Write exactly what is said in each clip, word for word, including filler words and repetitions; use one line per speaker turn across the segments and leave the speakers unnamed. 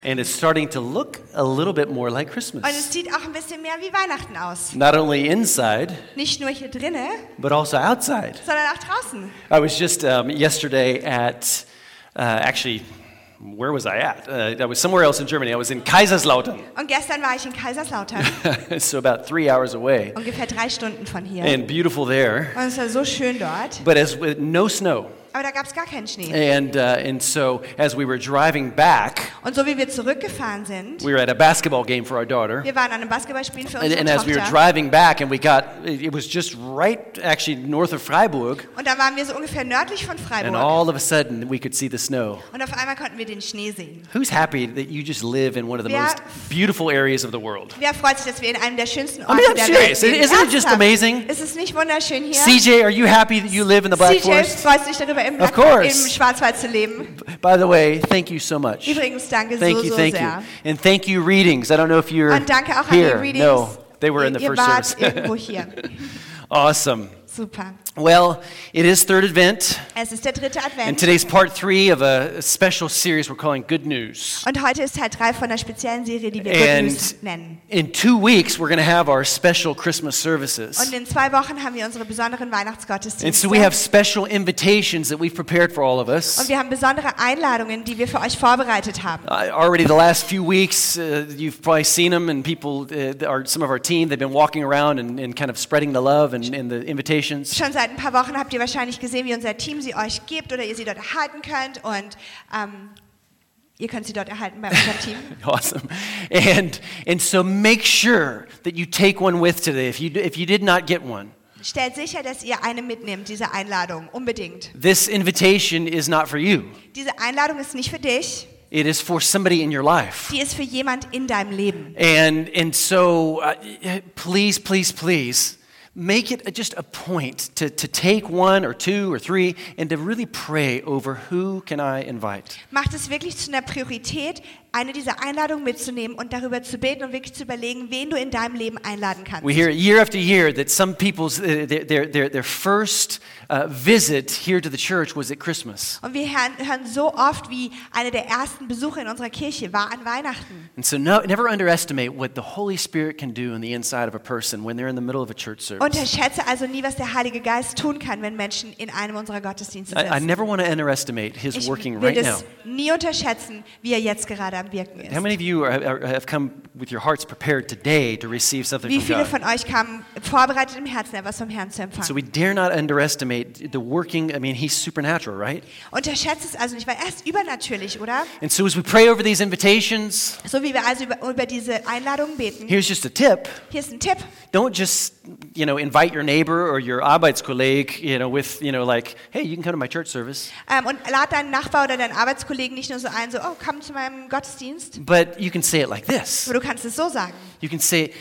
And it's starting to look a little bit more like Christmas.
Und es sieht auch ein bisschen mehr wie Weihnachten aus.
Not only inside,
Nicht nur hier drinnen,
but also outside.
sondern auch draußen.
I was just um, yesterday at, uh, actually, where was I at? Uh, I was somewhere else in Germany. I was in Kaiserslautern.
Und gestern war ich in Kaiserslautern,
So about three hours away.
ungefähr drei Stunden von hier.
And beautiful there.
Und es war so schön dort,
But as with no snow.
aber da gab es gar keinen Schnee.
And, uh, and so as we were driving back,
Und so wie wir zurückgefahren sind,
we were at a basketball game for our daughter.
wir waren an einem Basketballspiel für
And,
unsere
and as we were
Tochter.
driving back, and we got, it was just right actually north of Freiburg.
Und da waren wir so ungefähr nördlich von
And
Freiburg.
all of a sudden, we could see the snow.
Und auf einmal konnten wir den Schnee sehen.
Who's happy that you just live in one of the
Wer-
most beautiful areas of the world?
Wer freut sich, dass wir in einem der schönsten
I
Orte
mean, I'm
der
serious.
Welt leben?
Isn't it just
Ernsthaft?
amazing?
Ist es nicht wunderschön hier?
C J, are you happy that you live in the Black
C J
Forest?
freut sich darüber, im,
Of
Black,
course.
im Schwarzwald zu leben.
By the way, thank you so much.
Übrigens, danke
Thank
so,
you,
so
thank
sehr.
you. And thank you, Readings. I don't know if you're
Und danke auch an
here.
die Readings.
No, they were in the
Ihr
first
wart
service.
irgendwo hier.
Awesome.
Super.
Well, it is third Advent,
Es ist der dritte
and
Advent.
today's part three of a special series we're calling Good News.
Und heute ist Teil drei von einer speziellen Serie, die wir
And
Good News nennen.
in two weeks, we're going to have our special Christmas
Und
services.
in zwei Wochen haben wir unsere besonderen
And
Weihnachtsgottesdienste.
so we have special invitations that we've prepared for all of
Und
us.
wir haben besondere Einladungen, die wir für euch vorbereitet haben.
Uh, already the last few weeks, uh, you've probably seen them, and people, uh, are, some of our team, they've been walking around and, and kind of spreading the love and, and the invitations.
Schon seit ein paar Wochen habt ihr wahrscheinlich gesehen, wie unser Team sie euch gibt oder ihr sie dort erhalten könnt. Und ähm, ihr könnt sie dort erhalten bei unserem Team.
Awesome. And, and so make sure that you take one with today if you, if you did not get one.
Stellt sicher, dass ihr eine mitnehmt, diese Einladung. Unbedingt.
This invitation is not for you.
Diese Einladung ist nicht für dich,
It is for somebody in your life.
die ist für jemand in deinem Leben.
And, and so uh, please, please, please, make it just a point to, to take one or two or three and to really pray over who can I invite.
Macht es wirklich zu einer Priorität, eine dieser Einladungen mitzunehmen und darüber zu beten und wirklich zu überlegen, wen du in deinem Leben einladen kannst.
We hear year after year that some people's, uh, their, their, their, their first uh, visit here to the church was at Christmas.
Und wir hören, hören so oft, wie eine der ersten Besuche in unserer Kirche war an Weihnachten.
And so no, never underestimate what the Holy Spirit can do in the inside of a person when they're in the middle of a church service.
Unterschätze also nie, was der Heilige Geist tun kann, wenn Menschen in einem unserer Gottesdienste
I, I
sitzen.
never want to underestimate His
Ich
working
will
right now.
das nie unterschätzen, wie er jetzt gerade am Wirken ist.
How many of you are, are, have come with your hearts prepared today to receive something
Wie
from
viele
God?
von euch kamen vorbereitet im Herzen, etwas vom Herrn zu
So
empfangen?
we dare not underestimate the working. I mean, He's supernatural, right?
Unterschätze es also nicht, weil er ist übernatürlich, oder?
And so as we pray over these invitations,
So wie wir also über, über diese Einladungen beten.
here's just a tip.
Hier ist ein Tipp.
Don't just, you know, invite your neighbor or your Arbeitskolleg, you know, with, you know, like, hey, you can come to my church service.
Ähm, und lad deinen Nachbar oder deinen Arbeitskollegen nicht nur so ein, so, oh, komm zu meinem Gottesdienst.
But you can say it like this.
Aber du kannst es so sagen.
You can say,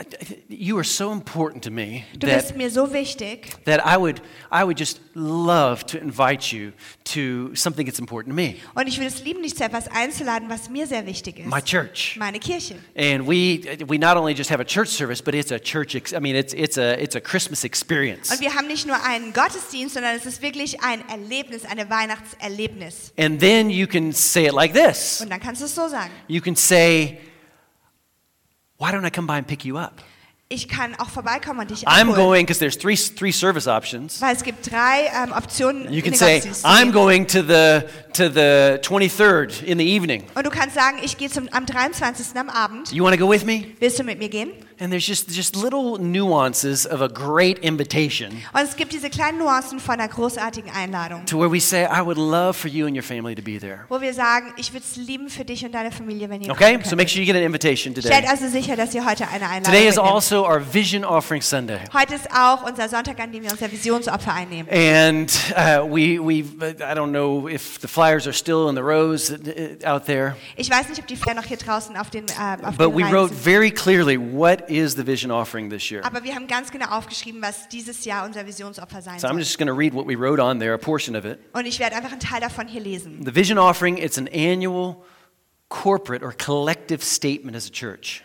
you are so important to me
Du
that
bist mir so wichtig,
that I would I would just love to invite you to something that's important to me,
und ich würde es lieben, dich zu etwas einzuladen, was mir sehr wichtig ist.
my church.
Meine Kirche.
And we we not only just have a church service, but it's a church. Ex- I mean, it's it's a it's a Christmas experience.
Und wir haben nicht nur einen Gottesdienst, sondern es ist wirklich ein Erlebnis, ein Weihnachtserlebnis.
And then you can say it like this.
Und dann kannst du es so sagen.
You can say, "Why don't I come by and pick you up?
Ich kann auch vorbeikommen und dich
I'm
abholen.
going because there's three three service options.
Weil es gibt drei ähm, Optionen,
You
in
can
den
say,
Gottesdienst zu
I'm
gehen.
going to the to the twenty-third in the evening.
Und du kannst sagen, ich gehe zum, am dreiundzwanzigsten am Abend.
You want to go with me?"
Willst du mit mir gehen?
And there's just just little nuances of a great invitation
Und es gibt diese kleinen Nuancen von einer großartigen Einladung,
to where we say, I would love for you and your family to be there.
wo wir sagen, ich würde es lieben für dich und deine Familie, wenn ihr
Okay?
kommen
So
könnt.
make sure you get an invitation
Stellt
today.
also sicher, dass ihr heute eine Einladung
Today is
mitnehmt.
also our Vision Offering Sunday.
Heute ist auch unser Sonntag, an dem wir unser Visionsopfer einnehmen.
And uh, we, we, I don't know if the flyers are still in the rows uh, out there,
Ich weiß nicht, ob die Flyer noch hier draußen auf den, äh, auf
but
den
we
Reihen
wrote
sind.
very clearly what is the Vision Offering this year.
Aber wir haben ganz genau aufgeschrieben, was dieses Jahr unser Visionsopfer sein
So I'm
soll.
just going to read what we wrote on there, a portion of it.
Und ich werde einfach einen Teil davon hier lesen.
The Vision Offering, it's an annual corporate or collective statement as a church.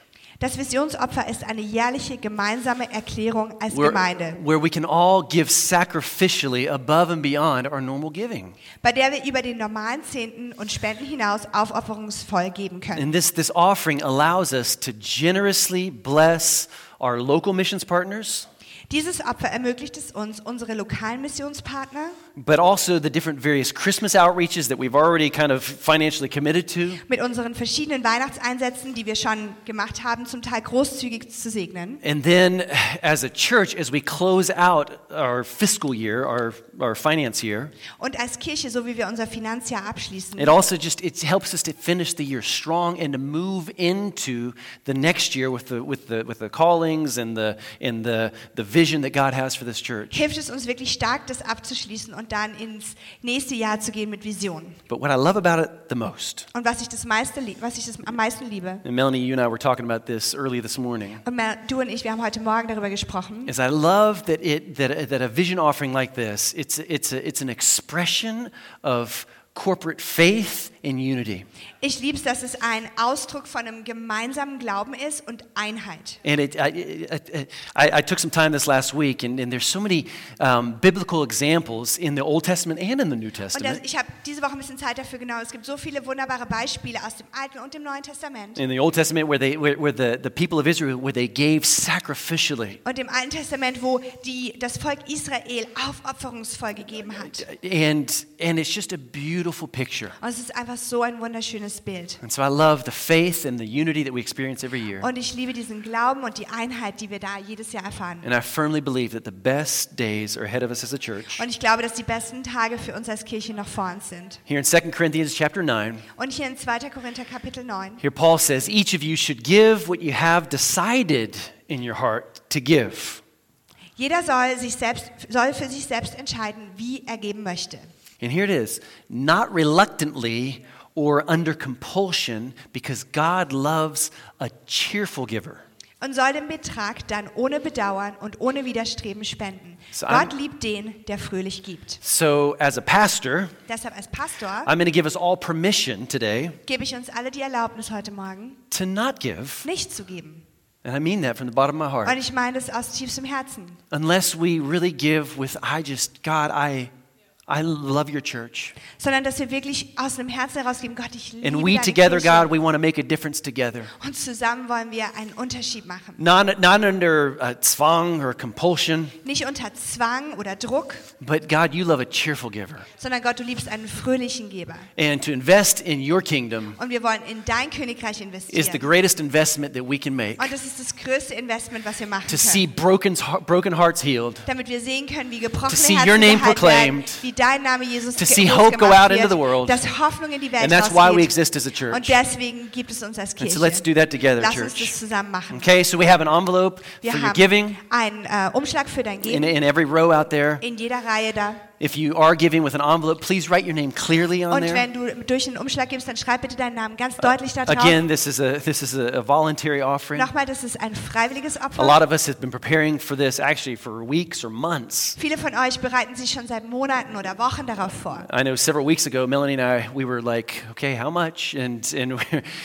Das Visionsopfer ist eine jährliche gemeinsame Erklärung als
where,
Gemeinde,
where we can all give sacrificially above and beyond our normal giving.
bei der wir über den normalen Zehnten und Spenden hinaus aufopferungsvoll geben können.
And this, this offering allows us to generously bless our local missions partners,
Dieses Opfer ermöglicht es uns, unsere lokalen Missionspartner,
but also the different various Christmas outreaches that we've already kind of financially committed to.
mit unseren verschiedenen Weihnachtseinsätzen, die wir schon gemacht haben, zum Teil großzügig zu segnen.
And then as a church, as we close out our fiscal year, our, our finance year,
Und als Kirche, so wie wir unser Finanzjahr abschließen,
it also just it helps us to finish the year strong and to move into the next year with the with the with the callings and the and the the vision that God has for this church.
hilft es uns wirklich stark, das abzuschließen und dann ins nächste Jahr zu gehen mit Visionen.
But what I love about it the most,
Und was ich das meiste, lie- was ich das am meisten liebe,
and Melanie, you and I were talking about this early this morning,
und Mel- du und ich, wir haben heute Morgen darüber gesprochen,
is I love that it that a, that a vision offering like this, it's it's a, it's an expression of corporate faith and unity.
ich liebe es, dass es ein Ausdruck von einem gemeinsamen Glauben ist und Einheit.
And it, I, I, I, I took some time this last week, and, and there's so many um, biblical examples in the Old Testament and in the New
Und das,
Testament.
ich habe diese Woche ein bisschen Zeit dafür genommen. Es gibt so viele wunderbare Beispiele aus dem Alten und dem Neuen Testament.
In the Old Testament, where they, where, where the, the people of Israel, where they gave sacrificially,
Und im Alten Testament, wo die, das Volk Israel aufopferungsvoll gegeben hat.
and and it's just a beautiful picture.
Und es ist einfach so ein wunderschönes Bild.
And so I love the faith and the unity that we experience every year.
Und ich liebe diesen Glauben und die Einheit, die wir da jedes Jahr erfahren.
And I firmly believe that the best days are ahead of us as a church.
Und ich glaube, dass die besten Tage für uns als Kirche noch vor uns sind.
Here in Second Corinthians chapter nine,
Und hier in zweiter Korinther Kapitel neun,
here Paul says, each of you should give what you have decided in your heart to give.
jeder soll, sich selbst, soll für sich selbst entscheiden, wie er geben möchte.
And here it is, not reluctantly or under compulsion, because God loves a cheerful giver.
Und soll den Betrag dann ohne Bedauern und ohne Widerstreben spenden.
So I'm-
Gott liebt den, der fröhlich gibt.
So as a pastor,
Deshalb als Pastor
I'm going to give us all permission today
gebe ich uns alle die Erlaubnis heute Morgen,
to not give,
nicht zu geben.
and I mean that from the bottom of my
Und
heart,
ich meine das aus tiefstem Herzen.
unless we really give with, I just, God, I, I love your church.
Sondern dass wir wirklich aus dem Herzen herausgeben, Gott, ich liebe
And we
deine
together,
Kirche.
God, we want to make a difference together.
Und zusammen wollen wir einen Unterschied machen.
Not, not under uh, zwang or compulsion,
Nicht unter Zwang oder Druck,
but God, you love a cheerful giver.
sondern Gott, du liebst einen fröhlichen Geber.
And to invest in your kingdom
Und wir wollen in dein Königreich
is the
investieren.
greatest investment that we can make.
Und das ist das größte Investment, was wir machen
To see
können.
broken, broken hearts healed,
Damit wir sehen können, wie gebrochene
To see
Herzen
your name
geheilt
proclaimed,
werden, wie dein Name Jesus
to
ge-
see
groß
hope go
gemacht
out into
wird,
the world.
dass Hoffnung in die Welt
and that's why we
rausgeht.
exist as a
Und
church.
deswegen gibt es uns als
And
Kirche.
so let's do that together,
Lass uns das
church.
zusammen machen.
Okay, so we have an envelope
Wir
for your
haben
giving
einen äh, Umschlag für dein
in,
Geben
in every row out there.
in jeder Reihe da.
If you are giving with an envelope, please write your name clearly on
Und
there.
wenn du durch den Umschlag gibst, dann schreib bitte deinen Namen ganz deutlich da drauf.
Again, this is a this is a, a voluntary offering.
Nochmal, das ist ein freiwilliges
A
Opfer.
lot of us have been preparing for this actually for weeks or months.
Viele von euch bereiten sich schon seit Monaten oder Wochen darauf vor.
I know several weeks ago, Melanie and I, we were like, okay, how much? And and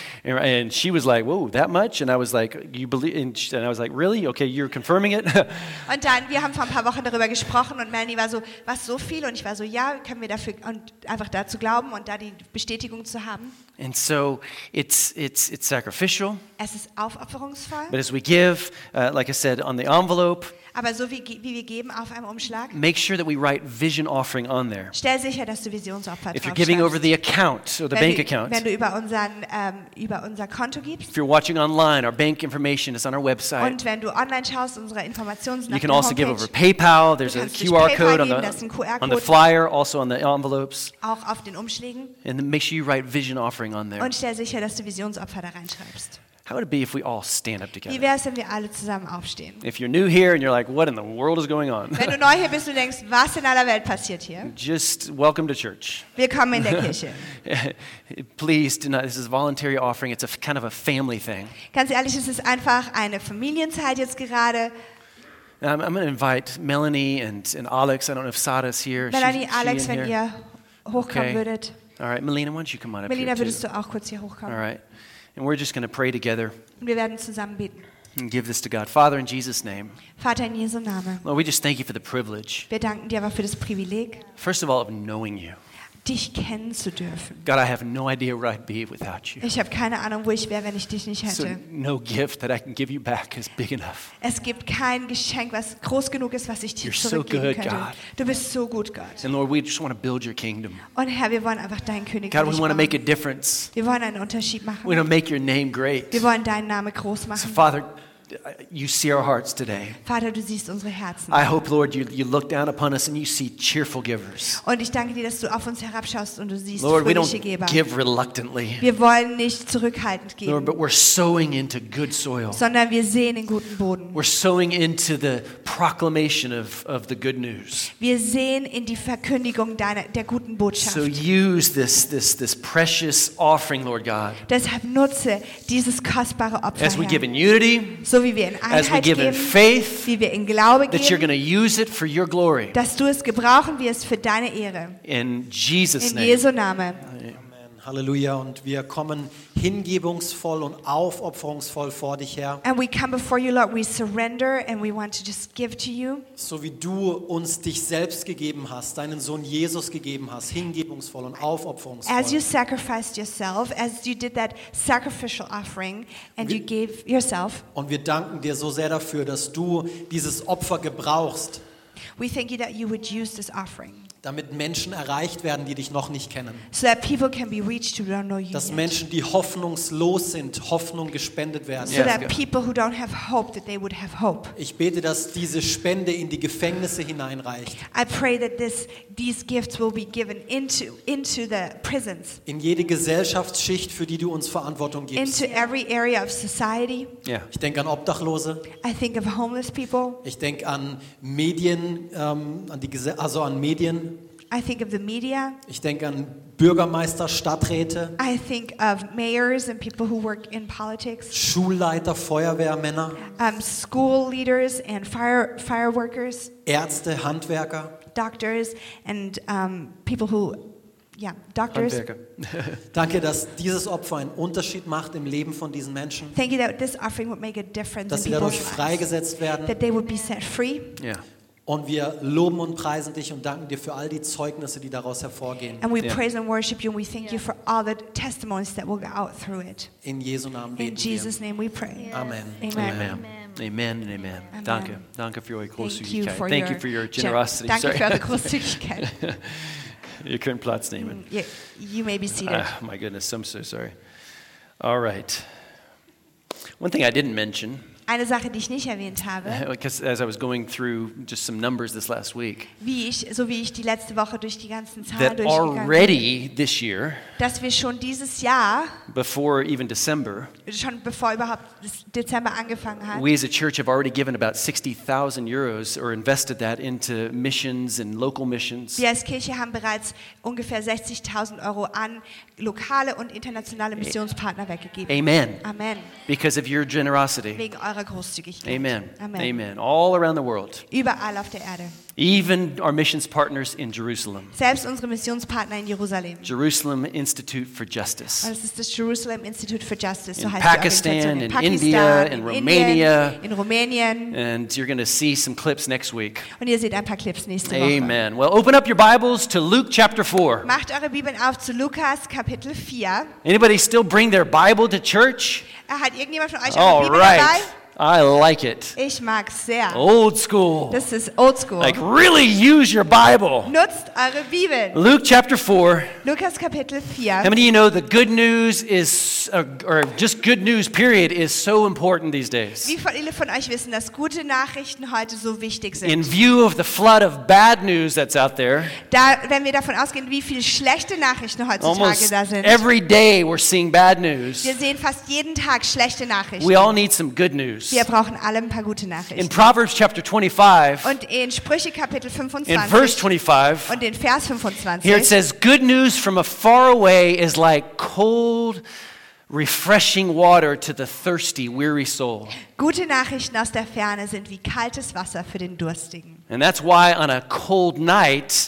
and she was like, whoa, that much? And I was like, you believe? And, she, and I was like, really? Okay, you're confirming it?
Und dann, wir haben vor ein paar Wochen darüber gesprochen und Melanie war so, was, so viel? Und ich war so, ja, können wir dafür und einfach dazu glauben und da die Bestätigung zu haben.
And so it's it's it's sacrificial.
Es ist aufopferungsvoll,
But as we give, uh, like I said, on the envelope,
aber so wie, wie wir geben auf einem Umschlag,
make sure that we write vision offering on there.
stell sicher, dass du Visionsopfer
If you're giving over
draufschreibst.
the account or the
Wenn
bank
du,
account,
wenn du über, unseren, ähm, über unser Konto gibst
if you're watching online, our bank information is on our website.
und wenn du online schaust, unsere Informationen sind
You
auf
can
der
also give
Homepage,
over PayPal. There's
Du
a
kannst durch
Q R
PayPal
code on
geben, das ist
the
ein Q R
on the
Code.
flyer, also on the envelopes.
auch auf den Umschlägen
And then make sure you write vision offering on there.
und stell sicher, dass du Visionsopfer da reinschreibst.
How would it be if we all stand up
Wie
together?
wäre es, wenn wir alle zusammen aufstehen?
If you're new here and you're like, what in the world is going on?
Wenn du neu hier bist und denkst, was in aller Welt passiert hier?
Just welcome to church.
Willkommen in der Kirche.
Please do not, this is a voluntary offering. It's a f- kind of a family thing.
Ganz ehrlich, es ist einfach eine Familienzeit jetzt gerade.
Now, I'm, I'm going to invite Melanie and, and Alex. I don't know if Sada's here. She's-
Melanie,
she
Alex,
in
wenn
here?
ihr hochkommen
Okay.
würdet.
All right, Melina, why don't you come on up
Melina,
here
würdest
too?
du auch kurz hier
All
hochkommen?
right. And we're just going to pray together
Und wir werden zusammen beten.
and give this to God. Father, in Jesus' name,
Vater, in Jesu Namen,
Lord, we just thank you for the privilege,
wir danken dir aber für das Privileg,
first of all, of knowing you.
dich kennen zu dürfen.
God, I have no idea where I'd be without you.
Ich habe keine Ahnung, wo ich wäre, wenn ich dich nicht
So
hätte.
no gift that I can give you back is big enough.
Es gibt kein Geschenk, was groß genug ist, was ich dir
You're so
zurückgeben
good,
könnte.
God.
Du bist so gut, Gott.
And Lord, we just want to build your kingdom.
Und Herr, wir wollen einfach dein Königreich
God, we want to make a
bauen.
difference.
Wir wollen einen Unterschied machen.
We want to make your name great.
Wir wollen deinen Namen groß
So,
machen.
Father, you see our hearts today.
Vater, du siehst unsere Herzen.
I hope, Lord, you, you look down upon us and you see cheerful givers.
Und ich danke dir, dass du auf uns herabschaust und du siehst
Lord, we
fröhliche
don't
Geber.
give reluctantly,
Wir wollen nicht zurückhaltend
Lord,
geben,
but we're sowing into good soil.
sondern wir sehen in guten Boden.
We're sowing into the proclamation of, of the good news.
Wir sehen in die Verkündigung deiner, der guten Botschaft.
So use this, this, this precious offering, Lord God,
Deshalb nutze dieses kostbare Opfer,
as we
Herr.
give in unity,
So wie wir in
as we
Einheit
give in
geben,
faith,
wie wir in Glaube
that you're
geben,
going to use it for your glory.
dass du es gebrauchen wirst für deine Ehre.
In Jesus'
In
name.
Jesu Namen.
Amen. Halleluja. Und wir kommen hingebungsvoll und aufopferungsvoll vor dich her.
And we come before you, Lord. We surrender and we want to just give to you.
So wie du uns dich selbst gegeben hast, deinen Sohn Jesus gegeben hast, hingebungsvoll und
As you
aufopferungsvoll.
sacrificed yourself, as you did that sacrificial offering and you gave yourself,
Und wir danken dir so sehr dafür, dass du dieses Opfer gebrauchst,
we thank you that you would use this offering
damit Menschen erreicht werden, die dich noch nicht kennen.
so that people can be reached who don't know you
Dass
yet.
Menschen, die hoffnungslos sind, Hoffnung gespendet werden.
So
Yes,
that
God.
people who don't have hope, that they would have hope.
Ich bete, dass diese Spende in die Gefängnisse hineinreicht,
I pray that this, these gifts will be given into, into the prisons,
in jede Gesellschaftsschicht, für die du uns Verantwortung gibst.
into every area of society.
Yeah.
Ich denke an Obdachlose,
I think of homeless people.
ich denke an Medien, ähm, an die Gese- also an Medien.
I think of the media.
Ich denke an Bürgermeister, Stadträte,
I think of mayors and people who work in politics,
Schulleiter, Feuerwehrmänner,
um, school leaders and fire, fire workers,
Ärzte, Handwerker.
doctors, and um, people who, yeah, doctors.
Handwerker.
Danke, dass dieses Opfer einen Unterschied macht im Leben von diesen Menschen,
Thank you that this offering would make a difference
dass
in
sie
people's
dadurch
lives,
freigesetzt werden.
that they would be set free.
Yeah.
Und wir loben und preisen dich und danken dir für all die Zeugnisse, die daraus hervorgehen.
And we
Yeah.
praise and worship you, and we thank you for all the testimonies that will go out through it.
In Jesu Namen
In
beten
Jesus' name we pray.
wir. Amen.
Amen.
Amen. Amen and amen.
Amen.
Danke. Danke für eure
Thank you
Großzügigkeit.
for
Thank
your,
you for your
gen-
generosity.
Danke für
Sorry.
eure Großzügigkeit.
Ihr könnt Platz nehmen.
you, you may be seated.
Ah, my goodness, I'm so sorry. All right. One thing I didn't mention,
Eine Sache, die ich nicht erwähnt habe,
because as I was going through just some numbers this last week,
wie ich, so wie ich die letzte Woche durch die ganzen Zahlen
that
durchgegangen bin,
already this year,
dass wir schon dieses Jahr,
before even December,
schon bevor überhaupt das Dezember angefangen hat,
we as a church have already given about sixty thousand euros or invested that into missions and local missions.
wir als Kirche haben bereits ungefähr sechzigtausend Euro an lokale und internationale Missionspartner weggegeben.
Amen.
Amen.
Because of your generosity.
Wegen eurer Großzügigkeit.
Amen.
Amen.
Amen. All around the world.
Überall auf der Erde.
Even our missions partners in Jerusalem.
Selbst unsere Missionspartner in Jerusalem.
Jerusalem Institute for Justice.
Und es ist das Jerusalem Institute for Justice, so
In
heißt
Pakistan,
die Organisation.
in
Pakistan,
India, in
in
Romania.
Indien, in Rumänien.
And you're going to see some clips next week.
Und ihr seht ein paar Clips nächste Woche.
Amen. Well, open up your Bibles to Luke chapter four.
Macht eure Bibeln auf zu Lukas Kapitel vier.
Anybody still bring their Bible to church?
Hat irgendjemand von euch eure
All
Bibel
right.
dabei?
I like it.
Ich mag's sehr.
Old school.
Das ist oldschool.
Like really use your Bible.
Nutzt eure Bibeln.
Luke chapter four.
Lukas Kapitel vier.
How many of you know the good news is, uh, or just good news period, is so important these days?
Wie viele von euch wissen, dass gute Nachrichten heute so wichtig sind?
In view of the flood of bad news that's out there,
Da, wenn wir davon ausgehen, wie viele schlechte Nachrichten heutzutage
almost
da sind.
every day we're seeing bad news.
Wir sehen fast jeden Tag schlechte Nachrichten.
We all need some good news.
Wir brauchen alle ein paar gute
In
Nachrichten.
Proverbs chapter twenty-five,
Und in Sprüche Kapitel
in
fünfundzwanzig
verse twenty-five,
und in Vers
here it
fünfundzwanzig
says, good news from afar away is like cold, refreshing water to the thirsty, weary soul.
Gute Nachrichten aus der Ferne sind wie kaltes Wasser für den Durstigen.
And that's why on a cold night,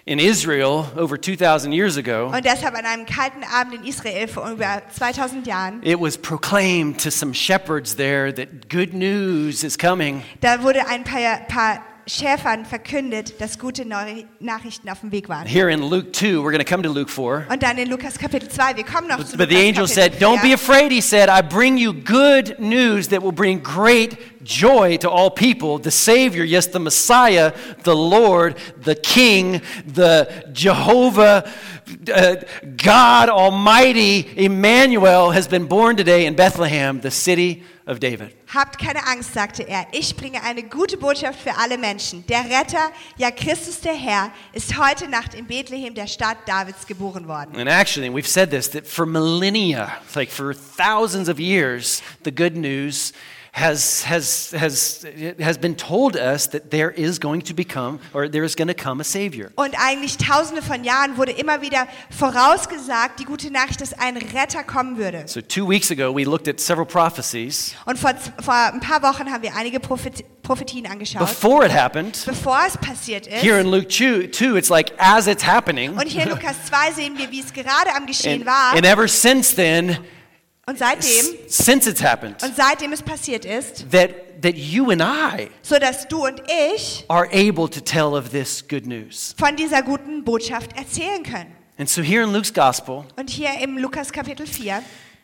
in Israel over two thousand years ago,
Und deshalb an einem kalten Abend in Israel vor über zweitausend Jahren,
it was proclaimed to some shepherds there that good news is coming.
da wurde ein paar, paar Schäfern verkündet, dass gute Neu- Nachrichten auf dem Weg waren.
Here in Luke two, we're going to come to Luke four.
Und dann in Lukas Kapitel zwei, wir kommen noch zu
But the
Lukas
angel
Kapitel
said, "Don't be
vier.
afraid," he said, "I bring you good news that will bring great joy to all people. The Savior, yes, the Messiah, the Lord, the King, the Jehovah, uh, God Almighty, Emmanuel has been born today in Bethlehem, the city of David."
Habt keine Angst, sagte er. Ich bringe eine gute Botschaft für alle Menschen. Der Retter, ja Christus der Herr, ist heute Nacht in Bethlehem, der Stadt Davids, geboren worden.
And actually, we've said this, that for millennia, like for thousands of years, the good news has has has has been told us that there is going to become, or there is going to come a Savior.
Und eigentlich tausende von Jahren wurde immer wieder vorausgesagt, die gute Nachricht, dass ein Retter kommen würde.
So two weeks ago, we looked at several prophecies.
Und vor, vor ein paar Wochen haben wir einige Prophet, Prophetien angeschaut.
Before it happened,
Bevor es passiert ist.
here in Luke two, it's like as it's happening.
Und hier in Lukas zwei sehen wir, wie es gerade am Geschehen
And,
war.
and ever since then,
Und seitdem,
s- since it's happened,
und seitdem es passiert ist,
that that you and I
so dass du und ich
are able to tell of this good news.
von dieser guten Botschaft erzählen können.
And so here in Luke's gospel,
Und hier im Lukas Kapitel vier.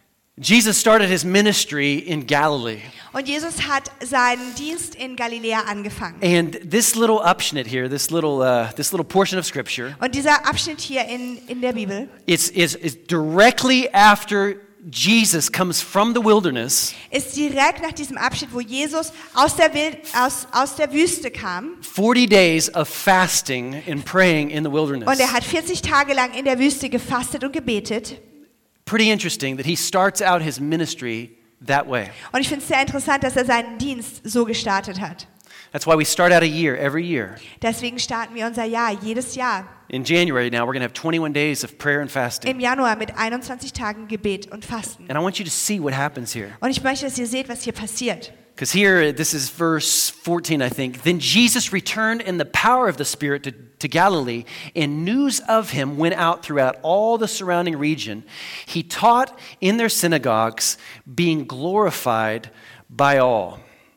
Jesus started his ministry in Galilee.
Und Jesus hat seinen Dienst in Galiläa angefangen.
And this little Abschnitt here, this little uh, this little portion of scripture,
Und dieser Abschnitt hier in, in der Bibel
it's is is directly after Jesus comes from the wilderness,
ist direkt nach diesem Abschnitt, wo Jesus aus der, Wild, aus, aus der Wüste kam.
forty days of fasting and praying in the wilderness.
Und er hat vierzig Tage lang in der Wüste gefastet und gebetet.
Pretty interesting that he starts out his ministry that way.
Und ich finde es sehr interessant, dass er seinen Dienst so gestartet hat.
That's why we start out a year every year.
Deswegen starten wir unser Jahr, jedes Jahr.
In January now, we're going to have twenty-one days of prayer and fasting.
Im Januar mit einundzwanzig Tagen Gebet und Fasten.
And I want you to see what happens here.
Und ich möchte, dass ihr seht, was hier passiert.
Because here, this is verse fourteen, I think. Then Jesus returned in the power of the Spirit to, to Galilee, and news of him went out throughout all the surrounding region. He taught in their synagogues, being glorified by all.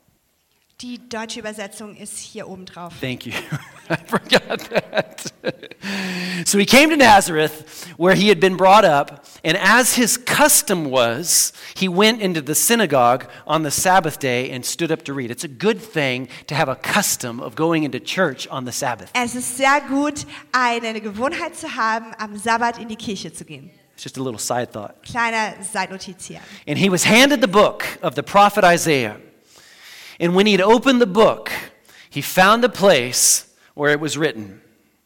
Die deutsche Übersetzung ist hier oben drauf.
Thank you. I forgot that. So he came to Nazareth, where he had been brought up, and as his custom was, he went into the synagogue on the Sabbath day and stood up to read. It's a good thing to have a custom of going into church on the Sabbath.
Es ist sehr gut, eine Gewohnheit zu haben, am Sabbat in die Kirche zu gehen.
It's just a little side thought.
Kleiner Seitnotiz hier.
And he was handed the book of the prophet Isaiah. And when he had opened the book, he found the place where it was written.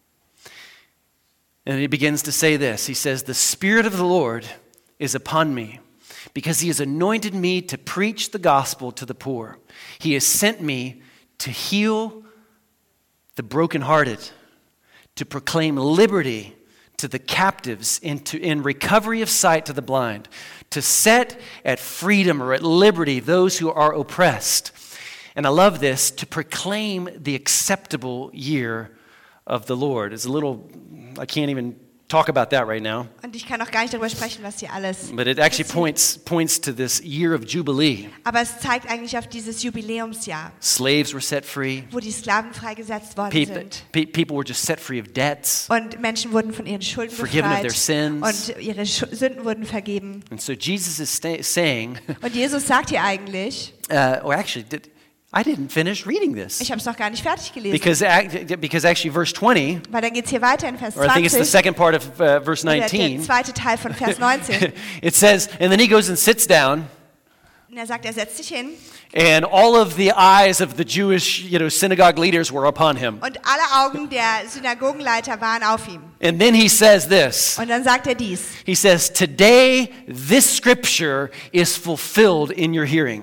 And he begins to say this. He says, "The Spirit of the Lord is upon me, because he has anointed me to preach the gospel to the poor. He has sent me to heal the brokenhearted, to proclaim liberty to the captives, and to, in recovery of sight to the blind, to set at freedom or at liberty those who are oppressed." And I love this, to proclaim the acceptable year of the Lord. It's a little, I can't even talk about that right now.
Und ich kann auch gar nicht darüber sprechen, was hier alles
But it actually
passiert.
points points to this year of Jubilee.
Aber es zeigt eigentlich auf dieses Jubiläumsjahr,
Slaves were set free.
wo die Sklaven freigesetzt worden
People,
sind.
pe- people were just set free of debts.
Und Menschen wurden von ihren Schulden
Forgiven of
befreit.
their sins.
Und ihre Schu- Sünden wurden vergeben.
And so Jesus is sta- saying,
Und Jesus sagt hier eigentlich,
uh, or actually, did, I didn't finish reading this.
ich habe es noch gar nicht fertig gelesen.
Because, ac- because actually verse twenty,
Weil dann geht es hier weiter in Vers
or I think it's the
zwanzig.
second part of uh, verse
Oder der
nineteen,
zweite Teil von Vers neunzehn.
it says, and then he goes and sits down,
Und er sagt, er setzt sich hin.
and all of the eyes of the Jewish, you know, synagogue leaders were upon him.
Und alle Augen der Synagogenleiter waren auf ihm.
And then he says this.
Und dann sagt er dies.
He says, "Today this scripture is fulfilled in your hearing."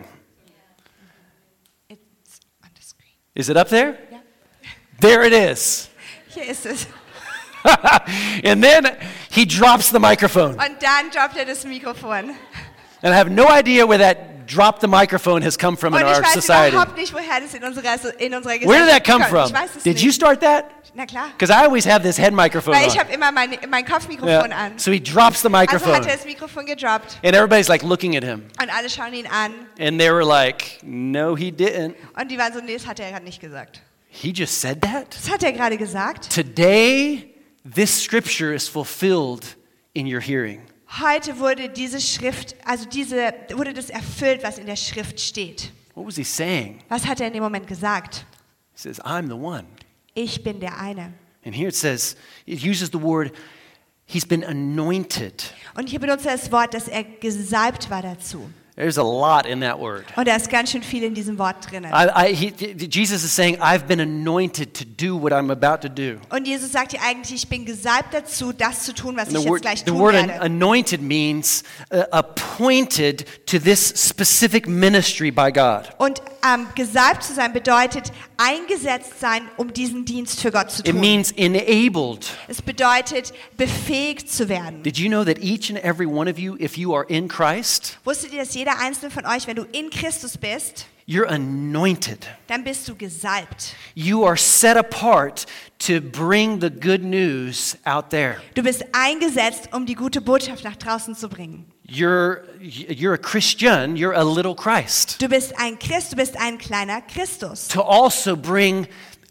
It's on the screen.
Is it up there?
Ja.
There it is.
Hier ist es.
And then he drops the microphone.
Und dann droppt er das Mikrofon.
And I have no idea where that drop the microphone has come from
Und
in
ich
our
weiß
society.
überhaupt nicht, woher das in unserer, in unserer
Where did that
Gesellschaft
come
kommt.
from?
Ich weiß es
Did
nicht.
you start that?
Na klar.
Because I always have this head microphone
Weil ich
on.
habe immer mein, mein Kopfmikrofon
Yeah.
an.
So he drops the
Also
microphone.
hat er das Mikrofon gedroppt
And everybody's like looking at him.
und alle schauen ihn an.
And they were like, no, he didn't.
Und die waren so, nee, das hat er gerade nicht gesagt.
He just said that?
Das hat er gerade gesagt.
Today, this scripture is fulfilled in your hearing.
Heute wurde diese Schrift, also diese, wurde das erfüllt, was in der Schrift steht.
What was he saying?
Was hat er in dem Moment gesagt?
He says, I'm the one.
Ich bin der eine.
And here it says, it uses the word, he's been anointed.
Und hier benutzt er das Wort, dass er gesalbt war dazu.
There's a lot in that word.
Und da ist ganz schön viel in diesem Wort drin.
I, I, he, Jesus is saying, I've been anointed to do what I'm about to do.
Und Jesus sagt hier eigentlich, ich bin gesalbt dazu, das zu tun, was
And
ich
the
jetzt
word,
gleich
the
tun
word
werde.
anointed means uh, appointed to this specific ministry by God.
Und ähm, gesalbt zu sein bedeutet, eingesetzt sein, um diesen Dienst für Gott zu
It
tun.
means enabled.
Es bedeutet, befähigt zu werden.
Did you know that each and every one of you, if you are in Christ,
Wusstet ihr, dass jeder einzelne von euch, wenn du in Christus bist,
you're anointed.
dann bist du gesalbt.
You are set apart to bring the good news out there.
Du bist eingesetzt, um die gute Botschaft nach draußen zu bringen.
You're, you're a Christian, you're a little Christ.
Du bist ein Christ, du bist ein kleiner Christus.
To also bring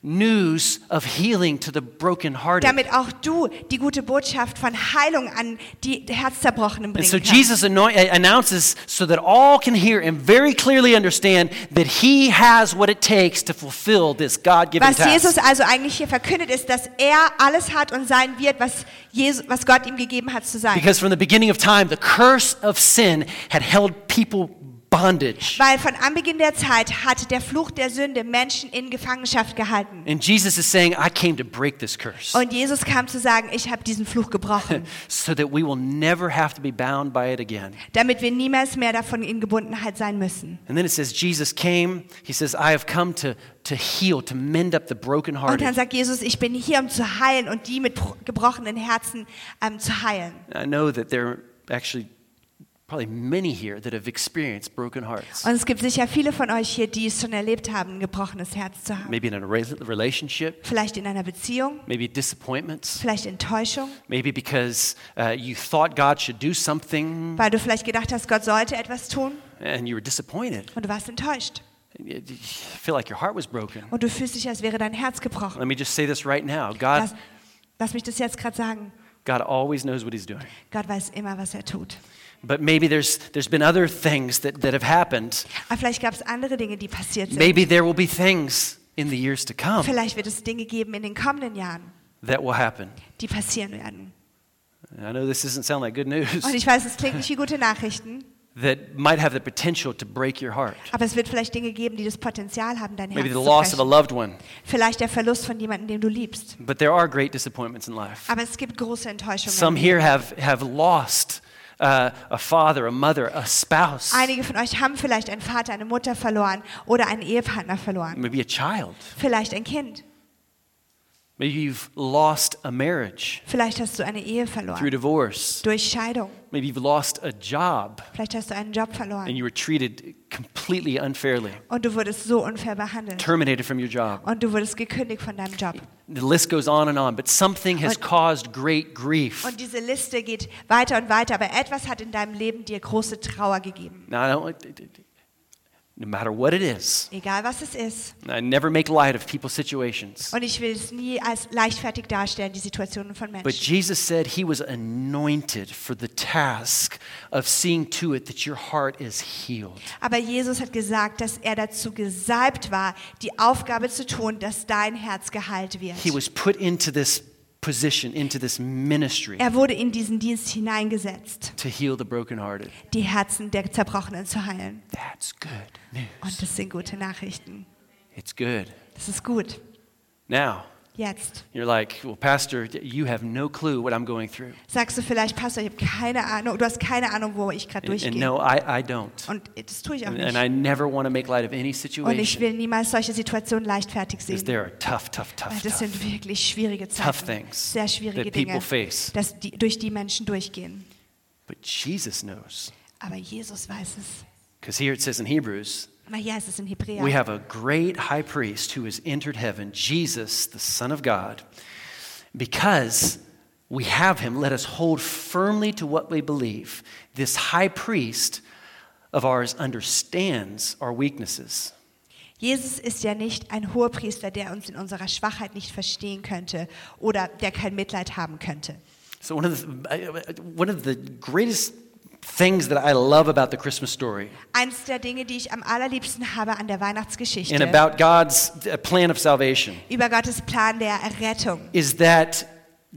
news of healing to the brokenhearted.
Damit auch du die gute Botschaft von Heilung an die Herzzerбrochenen
And
bringen
so
kannst.
Jesus anoint, announces so that all can hear and very clearly understand that he has what it takes to fulfill this God-given
Was Jesus
task.
also eigentlich hier verkündet, ist, dass er alles hat und sein wird, was, Jesus, was Gott ihm gegeben hat zu sein.
Because from the beginning of time, the curse of sin had held people bondage.
Weil von Anbeginn der Zeit hat der Fluch der Sünde Menschen in Gefangenschaft gehalten.
And Jesus is saying, I came to break this curse
Und Jesus kam zu sagen, ich habe diesen Fluch gebrochen,
so that we will never have to be bound by it again.
damit wir niemals mehr davon in Gebundenheit sein müssen.
And then it says, Jesus came, he says, I have come to, to heal, to mend up the
Und dann
brokenhearted.
sagt Jesus, ich bin hier, um zu heilen und die mit bro- gebrochenen Herzen ähm, zu heilen.
I know that there are actually probably many here that have experienced broken hearts.
Und es gibt sicher viele von euch hier, die es schon erlebt haben, ein gebrochenes Herz zu haben.
Maybe in a re- relationship,
Vielleicht in einer Beziehung,
maybe disappointments,
vielleicht Enttäuschung,
maybe because uh, you thought God should do something
weil du vielleicht gedacht hast, Gott sollte etwas tun
and you were disappointed.
und du warst enttäuscht.
You feel like your heart was broken.
Und du fühlst dich, als wäre dein Herz gebrochen.
Let me just say this right now. God,
Lass, lass mich das jetzt gerade sagen.
God always knows what he's doing.
Gott weiß immer, was er tut.
But maybe there's, there's been other things that, that have happened.
Aber vielleicht gab es andere Dinge, die passiert sind.
Maybe there will be things in the years to come
Vielleicht wird es Dinge geben in den kommenden Jahren,
that will happen.
die passieren werden.
I know this doesn't sound like good news.
Und ich weiß, es klingt nicht wie gute Nachrichten,
That might have the potential to break your heart.
aber es wird vielleicht Dinge geben, die das Potenzial haben, dein Herz
Maybe the
zu
loss of a
brechen.
loved one.
Vielleicht der Verlust von jemandem, den du liebst.
But there are great disappointments in life.
Aber es gibt große Enttäuschungen.
Some here have, have lost uh, a father, a mother, a spouse,
Einige von euch haben vielleicht einen Vater, eine Mutter verloren oder einen Ehepartner verloren.
maybe a child.
Vielleicht ein Kind.
Maybe you've lost a marriage
Vielleicht hast du eine Ehe
through
verloren.
divorce.
Durch Scheidung.
Maybe you've lost a job
Vielleicht hast du einen Job
and
verloren.
you were treated completely unfairly,
Und du wurdest so unfair behandelt.
terminated from your job.
Und du wurdest gekündigt von deinem Job.
The list goes on and on, but something has
Und-
caused great grief.
Und diese Liste geht weiter und weiter, aber etwas hat in deinem Leben dir große Trauer gegeben.
Now, I don't, no matter what it is,
Egal was es ist.
I never make light of people's situations.
Und ich will es nie als leichtfertig darstellen, die Situationen von
But
Menschen.
Jesus said he was anointed for the task of seeing to it that your heart is healed.
Aber Jesus hat gesagt, dass er dazu gesalbt war, die Aufgabe zu tun, dass dein Herz geheilt wird.
He was put into this position, into this ministry
Er wurde in diesen Dienst hineingesetzt,
to heal the brokenhearted.
die Herzen der Zerbrochenen zu heilen.
That's good news.
Und das sind gute Nachrichten.
It's good.
Das ist gut.
Now,
Jetzt
you're like, well, Pastor, you have no clue what I'm going through.
sagst du vielleicht, Pastor, ich habe keine Ahnung, du hast keine Ahnung, wo ich gerade
And, and
durchgehe.
no, I, I don't.
Und das tue ich auch
And,
nicht.
and I never want to make light of any
Und ich
situation
will niemals solche Situationen leichtfertig
because
sehen.
there are tough, tough,
Weil
tough,
das
tough,
sind wirklich schwierige
tough
Zeiten,
things
sehr schwierige
that
Dinge,
people face.
dass die, durch die Menschen durchgehen.
But Jesus knows.
Aber Jesus weiß es.
Because here it says in Hebrews,
Weil hier heißt es in Hebräer,
we have a great high priest who has entered heaven, Jesus, the Son of God. Because we have him, let us hold firmly to what we believe. This high priest of ours understands our weaknesses.
Jesus ist ja nicht ein Hohepriester, der uns in unserer Schwachheit nicht verstehen könnte oder der kein Mitleid haben könnte.
So one of the, one of the greatest things that I love about the Christmas story
Eins der Dinge, die ich am allerliebsten habe an der Weihnachtsgeschichte
and about God's plan of salvation
über Gottes Plan der Errettung
is that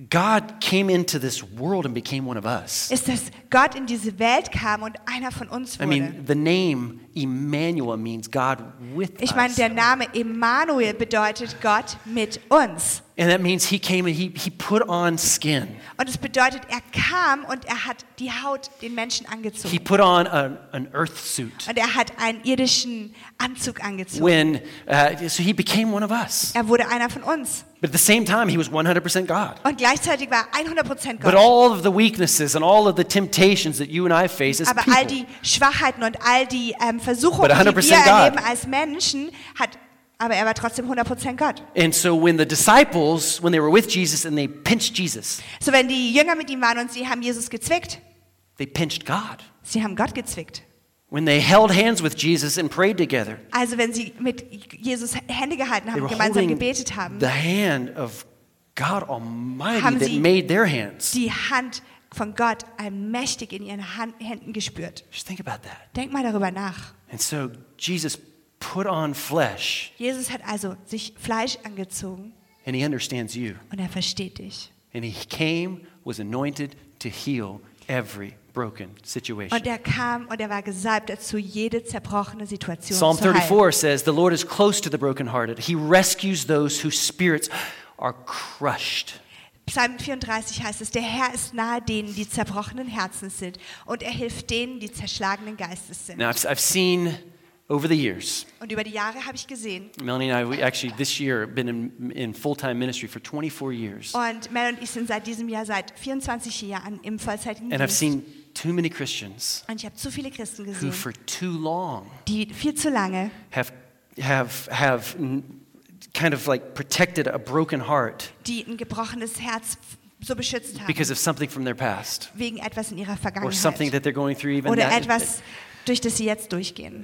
God came into this world and became one of us.
ist, dass Gott in diese Welt kam und einer von uns
I
wurde.
mean, the name Emmanuel means God with
Ich meine,
us.
der Name Emmanuel bedeutet Gott mit uns.
And that means he came and he, he put on skin.
Und es bedeutet, er kam und er hat die Haut den Menschen angezogen.
He put on a, an earth suit.
Und er hat einen irdischen Anzug angezogen.
When, uh, so he became one of us.
Er wurde einer von uns.
But at the same time, he was one hundred percent God.
Und gleichzeitig war er hundert Prozent
But
Gott.
all of the weaknesses and all of the temptations that you and I face as
Aber all
people,
die Schwachheiten und all die ähm, Versuchungen,
But
die
one hundred
wir
percent God.
erleben als Menschen, hat, aber er war trotzdem hundert Prozent Gott.
and so when the disciples, when they were with Jesus and they pinched Jesus,
So wenn die Jünger mit ihm waren und sie haben Jesus gezwickt,
they pinched God.
sie haben Gott gezwickt.
When they held hands with Jesus and prayed together,
Also wenn sie mit Jesus Hände gehalten
they
haben
were
und gemeinsam
holding
gebetet haben,
the hand of God Almighty
Haben
that
sie-
made their hands.
die Hand von Gott allmächtig in ihren Hand, Händen gespürt.
Just think about that.
Denk mal darüber nach.
And so Jesus put on flesh,
Jesus hat also sich Fleisch angezogen
and he understands you.
und er versteht dich.
And he came, was anointed to heal every broken situation.
Und er kam und er war gesalbt dazu, jede zerbrochene Situation
Psalm
zu heilen.
thirty-four says, the Lord is close to the brokenhearted. He rescues those whose spirits are crushed.
Psalm vierunddreißig heißt es, der Herr ist nahe denen, die zerbrochenen Herzens sind und er hilft denen, die zerschlagenen Geistes sind.
Now, I've, I've seen over the years,
Und über die Jahre habe ich gesehen,
Melanie and I, we actually this year have been in, in full-time ministry for twenty-four years.
und Mel und ich sind seit diesem Jahr, seit vierundzwanzig Jahren im vollzeitigen
And I've
Dienst.
seen too many Christians
Und ich habe zu viele Christen
who
gesehen,
for too long
die viel zu lange
have, have, have n- kind of like protected a broken heart
die ein gebrochenes Herz so beschützt haben,
because of something from their past
wegen etwas in ihrer
or something
Vergangenheit
that they're going through even
oder
now.
etwas, durch das sie jetzt durchgehen.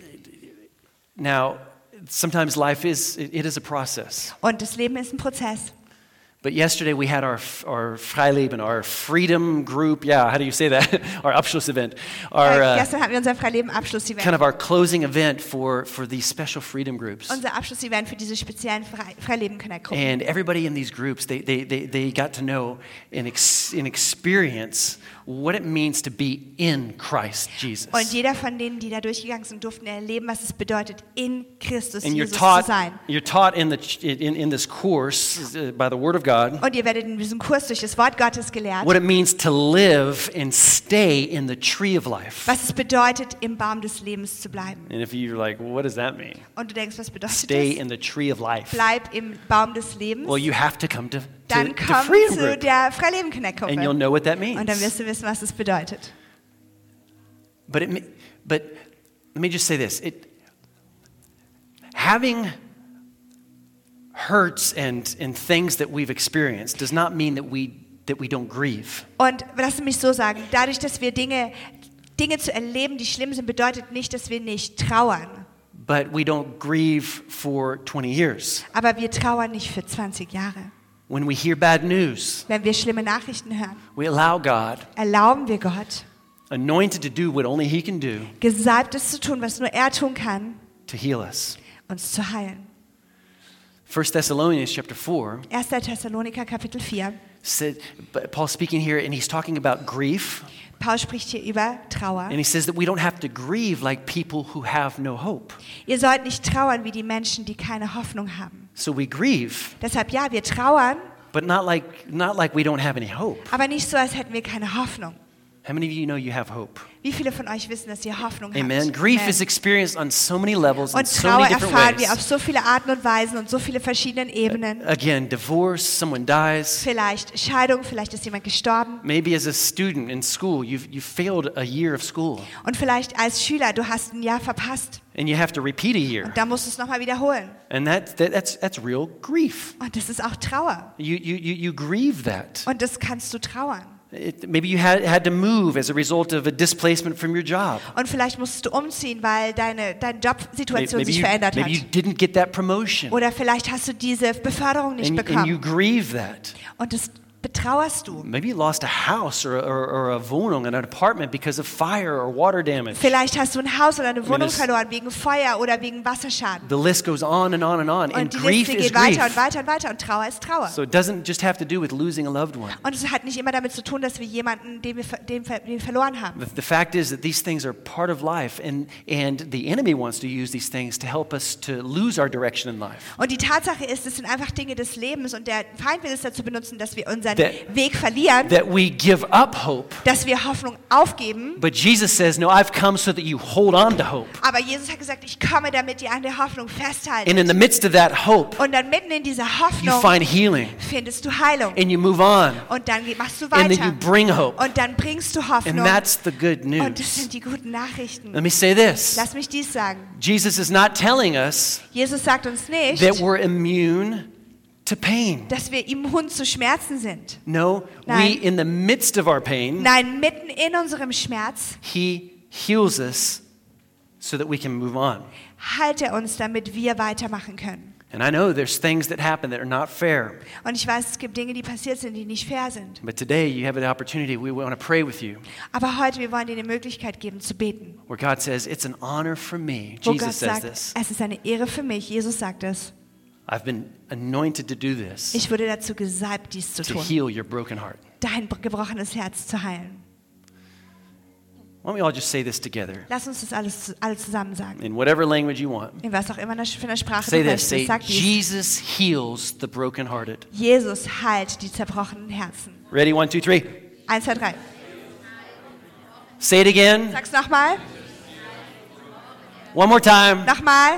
Now, sometimes life is, it, it is a process.
Und das Leben ist ein Prozess.
But yesterday we had our our Freileben, our freedom group. Yeah, how do you say that? Our Abschluss event, our
Äh,
uh,
gestern hatten wir unser Freileben-Abschlussevent.
kind of our closing event for for these special freedom groups.
Unser Abschlussevent für diese speziellen Fre Freileben-Connect-Gruppen.
And everybody in these groups, they they they, they got to know and ex, and experience what it means to be in Christ Jesus.
Und jeder von denen, die da durchgegangen sind, durften erleben, was es bedeutet, in Christus
And you're
Jesus
taught
zu sein.
you're taught in the ch- in in this course uh, by the Word of God
Und ihr werdet in diesem Kurs durch das Wort Gottes gelehrt,
what it means to live and stay in the tree of life.
was es bedeutet, im Baum des Lebens zu bleiben.
And if you're like, well, what does that mean?
Und du denkst, was bedeutet
Stay
das?
in the tree of life.
Bleib im Baum des Lebens.
Well, you have to come to, to,
Dann
to
komm
Freedom
zu
Group,
der Freileben-Connect-Gruppe.
and you'll know what that
Und dann
means.
wirst du wissen, was es bedeutet.
But it, ma- but let me just say this: it having hurts and and things that we've experienced does not mean that we that we don't grieve.
Und lass mich so sagen, dadurch, dass wir Dinge, Dinge zu erleben, die schlimm sind, bedeutet nicht, dass wir nicht trauern.
But we don't grieve for twenty years.
Aber wir trauern nicht für zwanzig Jahre.
When we hear bad news,
Wenn wir schlimme Nachrichten hören,
we allow God,
erlauben wir Gott,
anointed to do what only He can do,
Gesalbtes zu tun, was nur er tun kann,
to heal us.
uns zu heilen.
First Thessalonians chapter four
erster Thessaloniker Kapitel vier.
said, Paul speaking here, and he's talking about grief,
Paul spricht hier über Trauer.
and he says that we don't have to grieve like people who have no hope.
Ihr sollt nicht trauern wie die Menschen, die keine Hoffnung haben.
So we grieve,
Deshalb ja, wir trauern,
but not like not like we don't have any hope.
aber nicht so, als hätten wir keine Hoffnung.
How many of you know you have hope?
Wie viele von euch wissen, dass ihr Hoffnung
Amen.
habt?
Grief
Amen.
is experienced on so many levels and
Und
so
Trauer
many different
erfahren wir auf
ways.
so viele Arten und Weisen und so viele verschiedenen Ebenen.
Again, divorce, someone dies.
Vielleicht Scheidung, vielleicht ist jemand gestorben.
Maybe as a student in school, you've, you failed a year of school
Und vielleicht als Schüler, du hast ein Jahr verpasst.
and you have to repeat a year.
Und da musst du es nochmal wiederholen.
And that, that, that's, that's real grief.
Und das ist auch Trauer.
You, you, you, you grieve that.
Und das kannst du trauern.
It, maybe you had, had to move as a result of a displacement from your job.
Und vielleicht musstest du umziehen, weil deine, deine Jobsituation
Maybe
sich
you,
verändert
maybe you
hat.
didn't get that promotion.
Oder vielleicht hast du diese Beförderung nicht
And, and you
bekommen.
grieve that.
Und das betrauerst du.
Maybe you lost a house or, or, or a Wohnung, an apartment because of fire or water damage.
Vielleicht hast du ein Haus oder eine Wohnung
there's-
verloren wegen Feuer oder wegen Wasserschaden.
The list goes on and on and on. And
Und die
grief
Liste
is
geht weiter
grief.
und weiter und weiter und Trauer ist Trauer.
So it doesn't just have to do with losing a loved one.
Und es hat nicht immer damit zu tun, dass wir jemanden, den wir, ver- den, ver- den wir verloren haben.
The, the fact is that these things are part of life, and, and the enemy wants to use these things to help us to lose our direction in life.
Und die Tatsache ist, es sind einfach Dinge des Lebens und der Feind will es dazu benutzen, dass wir unseren
That-
Weg verlieren,
That we give up hope.
dass wir Hoffnung aufgeben.
But Jesus says, no, I've come so that you hold on to hope.
Aber Jesus hat gesagt, ich komme, damit ihr an der Hoffnung festhaltet.
And in the midst of that hope,
Und dann mitten in dieser
you
Hoffnung
find healing,
findest du Heilung.
and you move on,
Und dann geht- machst du
and then you
weiter.
bring hope.
Und dann bringst du
And
Hoffnung.
that's the good
Und das
news.
sind die guten Nachrichten.
Let me say this.
Lass mich dies sagen.
Jesus is not telling us
Jesus sagt uns nicht,
that we're immune to pain.
dass wir immun zu Schmerzen sind.
No, we,
Nein.
in the midst of our pain,
Nein, mitten in unserem Schmerz
He heals us so that we can move on.
heilt er uns, damit wir weitermachen können.
And I know there's things that happen that are not fair.
Und ich weiß, es gibt Dinge, die passiert sind, die nicht fair sind.
But today you have the opportunity. We want to pray with you.
Aber heute, wir wollen dir die Möglichkeit geben, zu beten.
Where God says, it's an honor for me.
Wo Gott
Jesus says
sagt,
this.
es ist eine Ehre für mich. Jesus sagt es.
I've been anointed to do this,
Ich wurde dazu gesalbt, dies zu
to
tun.
heal your broken heart.
Dein gebrochenes Herz zu heilen.
Why don't we all just say this together
Lass uns das alles alle zusammen sagen.
in whatever language you want?
In was auch immer für eine Sprache
Say
du
this. Say,
möchtest. Sag dies.
Jesus heals the brokenhearted.
Jesus heilt die zerbrochenen Herzen.
Ready? One, two, three.
Eins, zwei, drei.
Say it again.
Sag's nochmal.
One more time.
Nochmal.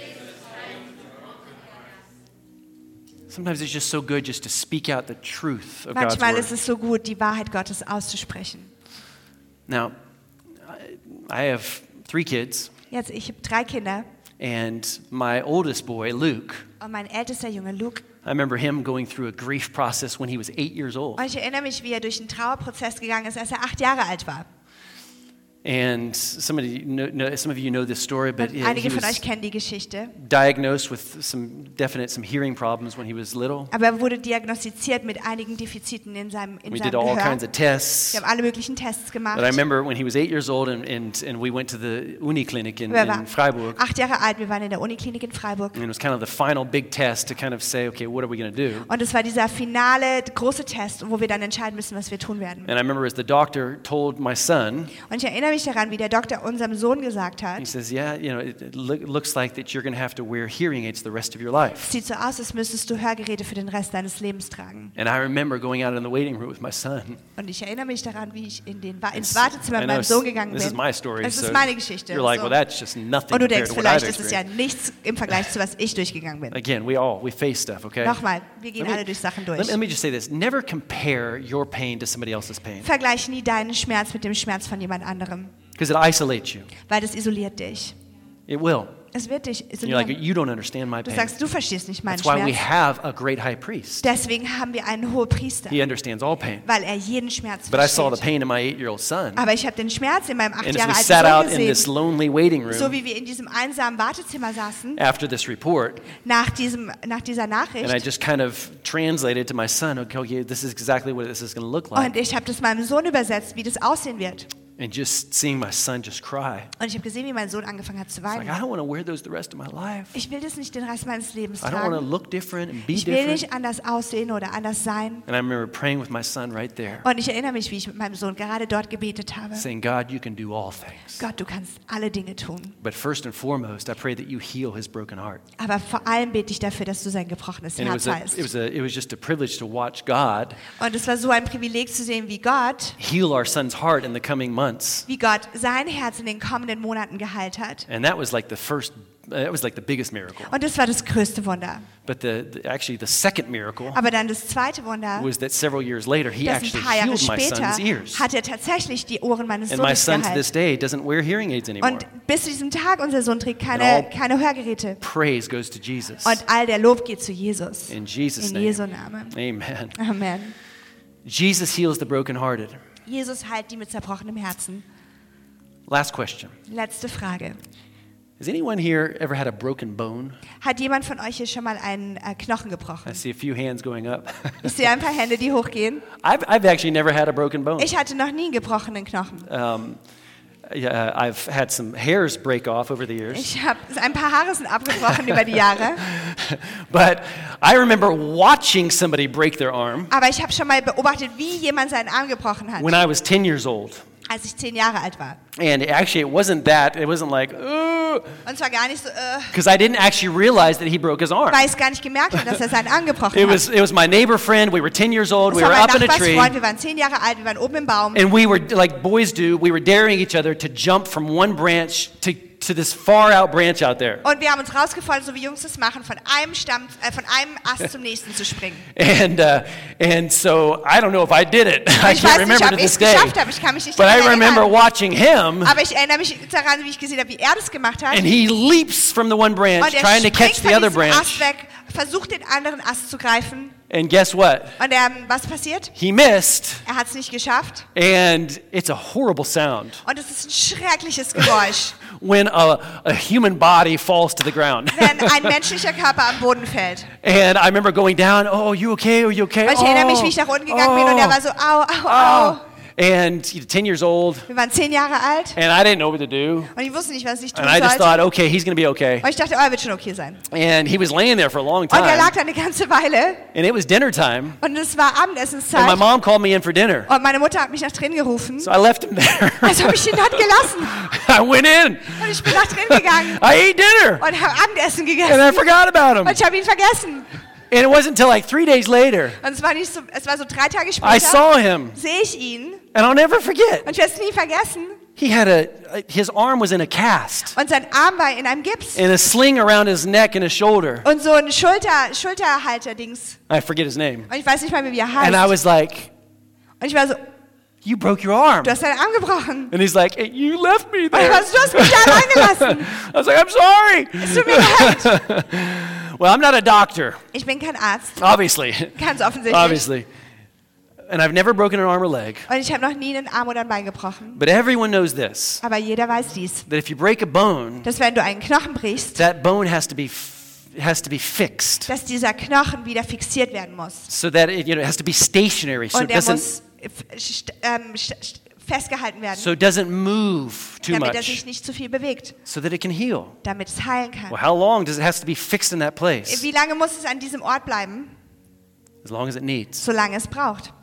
Sometimes it's just so good just to speak out the truth of God's
Manchmal
word.
ist es so gut, die Wahrheit Gottes auszusprechen.
Now, I I have three kids,
Jetzt, ich habe drei Kinder
and my oldest boy, Luke,
und mein ältester Junge Luke.
I remember him going through a grief process when he was eight years old.
Und ich erinnere mich, wie er durch einen Trauerprozess gegangen ist, als er acht Jahre alt war.
And somebody, know, know, some of you know this story, but
Und
he
einige von
was
euch kennen die Geschichte.
diagnosed with some definite, some hearing problems when he was little.
Aber er wurde diagnostiziert mit einigen Defiziten in seinem, in
We
seinem
did all
Gehör.
kinds of tests.
Wir haben alle möglichen Tests gemacht.
But I remember when he was eight years old and, and, and we went to the Uniklinik in,
Er war
in Freiburg.
acht Jahre alt, wir waren in der Uniklinik in Freiburg.
And it was kind of the final big test to kind of say, okay, what are we going to do?
Und es war dieser finale große Test, wo wir dann entscheiden müssen, was wir tun werden.
And I remember as the doctor told my son,
Und ich erinnere mich daran, wie der Doktor unserem Sohn gesagt
he
hat,
says, yeah, you know, it, it look, looks like that you're going to have to wear hearing aids the rest of your life.
es sieht so aus, als müsstest du Hörgeräte für den Rest deines Lebens tragen.
And I remember going out in the waiting room with my son.
Und ich erinnere mich daran, wie ich in den, Wa- ins
It's-
Wartezimmer
I
mit
know
meinem
it's-
Sohn gegangen
this is
bin.
my story,
Es ist
so
meine Geschichte.
You're like,
So.
well, that's just nothing
Und du
compared
denkst,
to what I've
vielleicht ist es ja
experienced.
nichts im Vergleich zu was ich durchgegangen bin.
Again, we all, we face stuff, okay?
Nochmal, wir gehen
Let me-
alle durch Sachen durch.
Let, let me just say this. Never compare your pain to somebody else's pain
Vergleich nie deinen Schmerz mit dem Schmerz von jemand anderem,
because it isolates you.
weil das isoliert dich.
It will.
Es wird dich
And you're like,
isolieren.
you don't understand my
Du
pain.
sagst, du verstehst nicht meinen
That's why we
Schmerz.
have a great high priest.
Deswegen haben wir einen Hohepriester,
He understands all pain.
weil er jeden Schmerz
But I saw the
versteht.
pain in my eight-year-old son.
Aber ich habe den Schmerz in meinem acht
And as
Jahre
we
alten
sat out
Sohn
in this
gesehen,
lonely waiting
so
room
wie wir in diesem einsamen Wartezimmer saßen,
after this report,
nach, diesem, nach dieser
and I
Nachricht.
just kind of translated to my son, okay, okay this is exactly what this is going to look
Und
like.
ich habe das meinem Sohn übersetzt, wie das aussehen wird.
And just seeing my son just cry.
Und ich habe gesehen, wie mein Sohn angefangen hat zu
It's like,
weinen.
I don't want to wear those the rest of my life.
Ich will das nicht den Rest meines Lebens
I don't want to
tragen.
look different and be
Ich will
different.
nicht anders aussehen oder anders sein.
And I remember praying with my son right there,
Und ich erinnere mich, wie ich mit meinem Sohn gerade dort gebetet habe.
saying, God, you can do all things.
Gott, du kannst alle Dinge tun.
But first and foremost, I pray that you heal his broken heart.
Aber vor allem bete ich dafür, dass du sein gebrochenes
And it
Herz
was, a,
heilst.
it, was a, it was just a privilege to watch God
Und es war so ein Privileg zu sehen, wie Gott,
heal our son's heart in the coming months.
wie Gott sein Herz in den kommenden Monaten geheilt hat.
And that was like the first, uh, that was like the biggest miracle.
Und das war das größte Wunder.
But the, the actually the second miracle
Aber dann das zweite Wunder,
was that several years later he
dass ein
actually
paar Jahre
healed my
später
son's ears.
hat er tatsächlich die Ohren meines
And my
Sohnes
son to this
geheilt.
day doesn't wear hearing aids anymore.
Und bis zu diesem Tag, unser Sohn trägt
And
keine,
all-
keine Hörgeräte.
Praise goes to Jesus.
Und all der Lob geht zu Jesus.
In Jesus'
In
name.
Jesu Namen.
Amen.
Amen.
Jesus heals the brokenhearted.
Jesus heilt die mit zerbrochenem Herzen.
Last question.
Letzte Frage.
Has anyone here ever had a broken bone?
Hat jemand von euch hier schon mal einen äh, Knochen
I
gebrochen?
see a few hands going up.
Ich sehe ein paar Hände, die hochgehen.
I've, I've actually never had a broken bone.
Ich hatte noch nie einen gebrochenen Knochen.
Um, yeah, I've had some hairs break off over the years.
Ich habe ein paar Haare sind abgebrochen über die Jahre.
But I remember watching somebody break their arm
Aber ich habe schon mal beobachtet, wie jemand seinen Arm gebrochen hat,
when I was ten years old.
als ich zehn Jahre alt war.
And actually, it wasn't that. It wasn't like, oh,
Und zwar gar nicht so, äh,
because I didn't actually realize that he broke his arm.
weil ich es gar nicht gemerkt habe, dass er seinen Arm gebrochen
It
hat.
was, it was my neighbor friend. We were ten years old.
Das
We
war
were
mein
up in a tree.
Nachbarsfreund, wir waren zehn Jahre alt, wir waren oben im Baum.
And we were, like boys do, we were daring each other to jump from one branch to, to this far out branch out there.
Und wir haben uns rausgefordert, so wie Jungs das machen, von einem Stamm, äh, von einem Ast zum nächsten zu springen.
And, uh, and so I don't know if I did it. I
Ich
can't
weiß nicht,
remember
ob
to
ich
this
es
day.
geschafft habe, ich kann mich nicht
But I
daran
remember
erinnern.
watching him,
Aber ich erinnere mich daran, wie ich gesehen habe, wie er das gemacht hat.
and he leaps from the one branch,
Und er
trying to
springt
catch the
von
other
diesem
branch.
Ast weg, versucht den anderen Ast zu greifen.
And guess what?
Und ähm, was passiert?
He missed,
Er hat es nicht geschafft.
and it's a horrible sound
Und es ist ein schreckliches Geräusch,
when a, a human body falls to the ground.
wenn ein menschlicher Körper am Boden fällt.
And I remember going down, oh, you okay? Are you okay?
Und ich erinnere mich, wie ich nach unten gegangen bin und er war so, au, au, au.
oh. And you know, ten years old,
Wir waren zehn Jahre alt
and I didn't know what to do.
und ich wusste nicht, was ich tun
And I just
sollte.
thought, okay, he's going to be okay.
Und ich dachte, oh, er wird schon okay sein.
And he was laying there for a long
Und er lag
time.
da eine ganze Weile
And it was dinner time.
und es war
And my
Abendessenszeit
mom called me in for dinner.
und meine Mutter hat mich nach drin gerufen.
So I left him there.
Also habe ich ihn dort gelassen
I went in.
und ich bin nach drin gegangen
I ate dinner.
und habe Abendessen
And
gegessen
I forgot about him.
und ich habe ihn vergessen.
And it wasn't until like three days later
Und es war nicht so, es war so drei Tage
I
später,
saw him.
sehe ich ihn
And I'll never forget.
und ich werde es nie vergessen.
He had a, his arm was in a cast.
Und sein Arm war in einem Gips
And a sling around his neck and his shoulder.
und so ein Schulter, Schulterhalter-Dings.
I forget his name.
Und ich weiß nicht mal mehr, wie er
And I
heißt.
was like,
Und ich war so,
you broke your arm.
du hast deinen Arm gebrochen.
And he's like, hey, you left me
Und ich
there.
war so, du hast mich da allein gelassen.
I was like, I'm sorry.
Es tut mir leid.
Well, I'm not a doctor,
Ich bin kein Arzt,
obviously.
ganz offensichtlich.
Obviously. And I've never broken an arm or leg.
Und ich habe noch nie einen Arm oder ein Bein gebrochen.
But everyone knows this,
Aber jeder weiß dies,
that if you break a bone,
dass wenn du einen Knochen brichst,
that bone has to be f- has to be fixed
dass dieser Knochen wieder fixiert werden muss.
so that it, you know, it has to be stationary so
Und
it
der
doesn't
muss f- st ähm, st st festgehalten werden,
so it doesn't move too
damit er
much
sich nicht zu viel bewegt,
so that it can heal.
damit es heilen kann.
Well, how long does it have to be fixed in that place?
Wie lange muss es an diesem Ort bleiben?
As long as it needs.
Solange es braucht.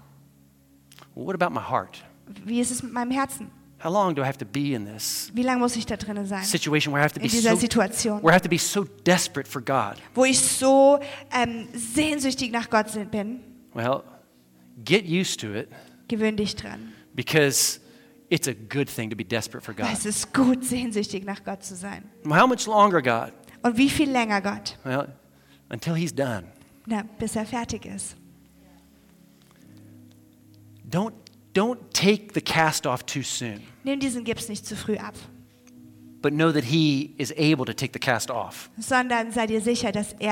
Well, what about my heart?
Wie ist es mit meinem Herzen?
How long do I have to be in this
Wie lange muss ich da drinnen sein?
situation where I have to be
In dieser
so
Situation,
where I have to be so desperate for God?
wo ich so ähm, sehnsüchtig nach Gott bin.
Well, get used to it
Gewöhn dich dran.
because it's a good thing to be desperate for
Weil
God.
es ist gut, sehnsüchtig nach Gott zu sein.
Well, how much longer, God?
Und wie viel länger, Gott?
Well, until He's done.
Na, bis er fertig ist.
Don't don't take the cast off too soon,
Nimm diesen Gips nicht zu früh ab,
but know that He is able to take the cast off.
sondern sei dir sicher, dass er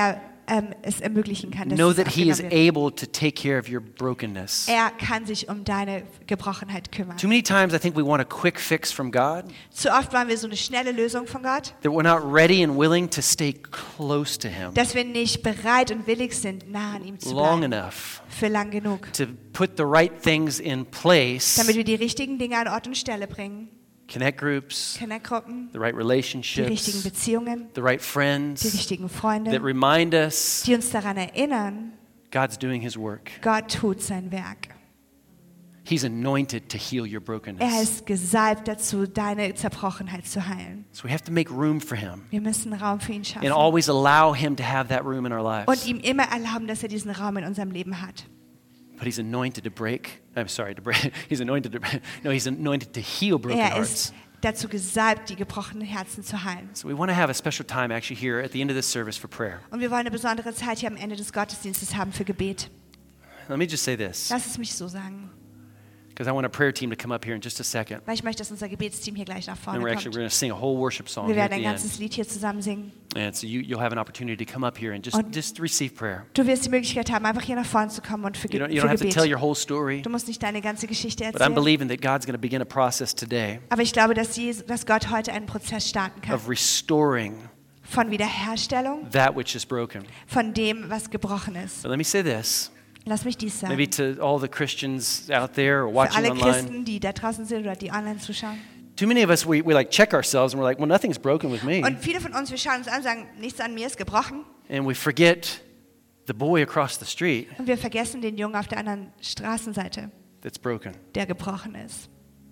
ähm, es ermöglichen kann, dass
Know
es
that He is
abgenommen wird.
able to take care of your brokenness.
Er kann sich um deine Gebrochenheit kümmern.
Too many times I think we want a quick fix from God,
Zu oft wollen wir so eine schnelle Lösung von Gott,
that we're not ready and willing to stay close to Him
dass wir nicht bereit und willig sind, nah an ihm zu
long
bleiben.
enough
Für lang genug.
to put the right things in place,
Damit wir die richtigen Dinge an Ort und Stelle bringen.
connect groups,
Connect-Gruppen,
the right
die richtigen
relationships,
Beziehungen,
the right
die
friends
richtigen
that
Freunde,
remind us
die uns daran erinnern,
God's doing His work.
Gott tut sein Werk.
He's anointed to heal your
Er
brokenness.
ist gesalbt dazu, deine Zerbrochenheit zu heilen.
So we have to make room for Him
Wir müssen Raum für ihn
and
schaffen
always allow Him to have that room in our
und
lives.
ihm immer erlauben, dass er diesen Raum in unserem Leben hat.
But He's anointed to break. I'm sorry, to break. He's anointed to no, He's anointed to heal broken
Er
hearts.
ist dazu gesalbt, die gebrochenen Herzen zu heilen.
So we want to have a special time actually here at the end of this service for prayer.
Und wir wollen eine besondere Zeit hier am Ende des Gottesdienstes haben für Gebet.
Let me just say this,
Lass es mich so sagen,
because I want a prayer team to come up here in just a second.
weil ich möchte, dass unser Gebetsteam hier gleich nach
And
vorne
we're actually we're
kommt.
going to sing a whole worship song
Wir
here at
werden
the
ein
end.
ganzes Lied hier zusammen singen.
And so you, you'll have an opportunity to come up here and just,
Und-
just receive prayer.
Du wirst die Möglichkeit haben, einfach hier nach vorne zu kommen und für,
You
Ge
don't, you
für
don't have to tell
Gebet.
your whole story,
Du musst nicht deine ganze Geschichte
but I'm
erzählen.
believing that God's going to begin a process today
Aber ich glaube, dass, Jesus, dass Gott heute einen Prozess starten kann.
of restoring
Von Wiederherstellung,
that which is broken.
von dem, was gebrochen ist.
But let me say this,
Lass mich dies sagen.
maybe to all the Christians out there or
Für
watching
alle
online.
Christen, die da draußen sind oder die online zuschauen.
Too many of us, we, we like check ourselves and we're like, well, nothing's broken with me.
Und viele von uns, wir schauen uns an und sagen, nichts an mir ist gebrochen.
And we forget the boy across the street
Und wir vergessen den Jungen auf der anderen Straßenseite,
that's broken.
der gebrochen ist.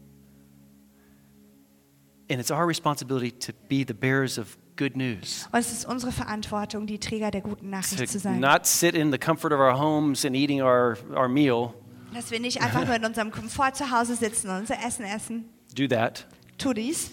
And it's our responsibility to be the bearers of good news.
Und es ist unsere Verantwortung, die Träger der guten Nachricht zu
To
sein.
not sit in the comfort of our homes and eating our, our meal.
Dass wir nicht einfach nur in unserem Komfort zu Hause sitzen und unser Essen essen.
Do that.
Tu dies.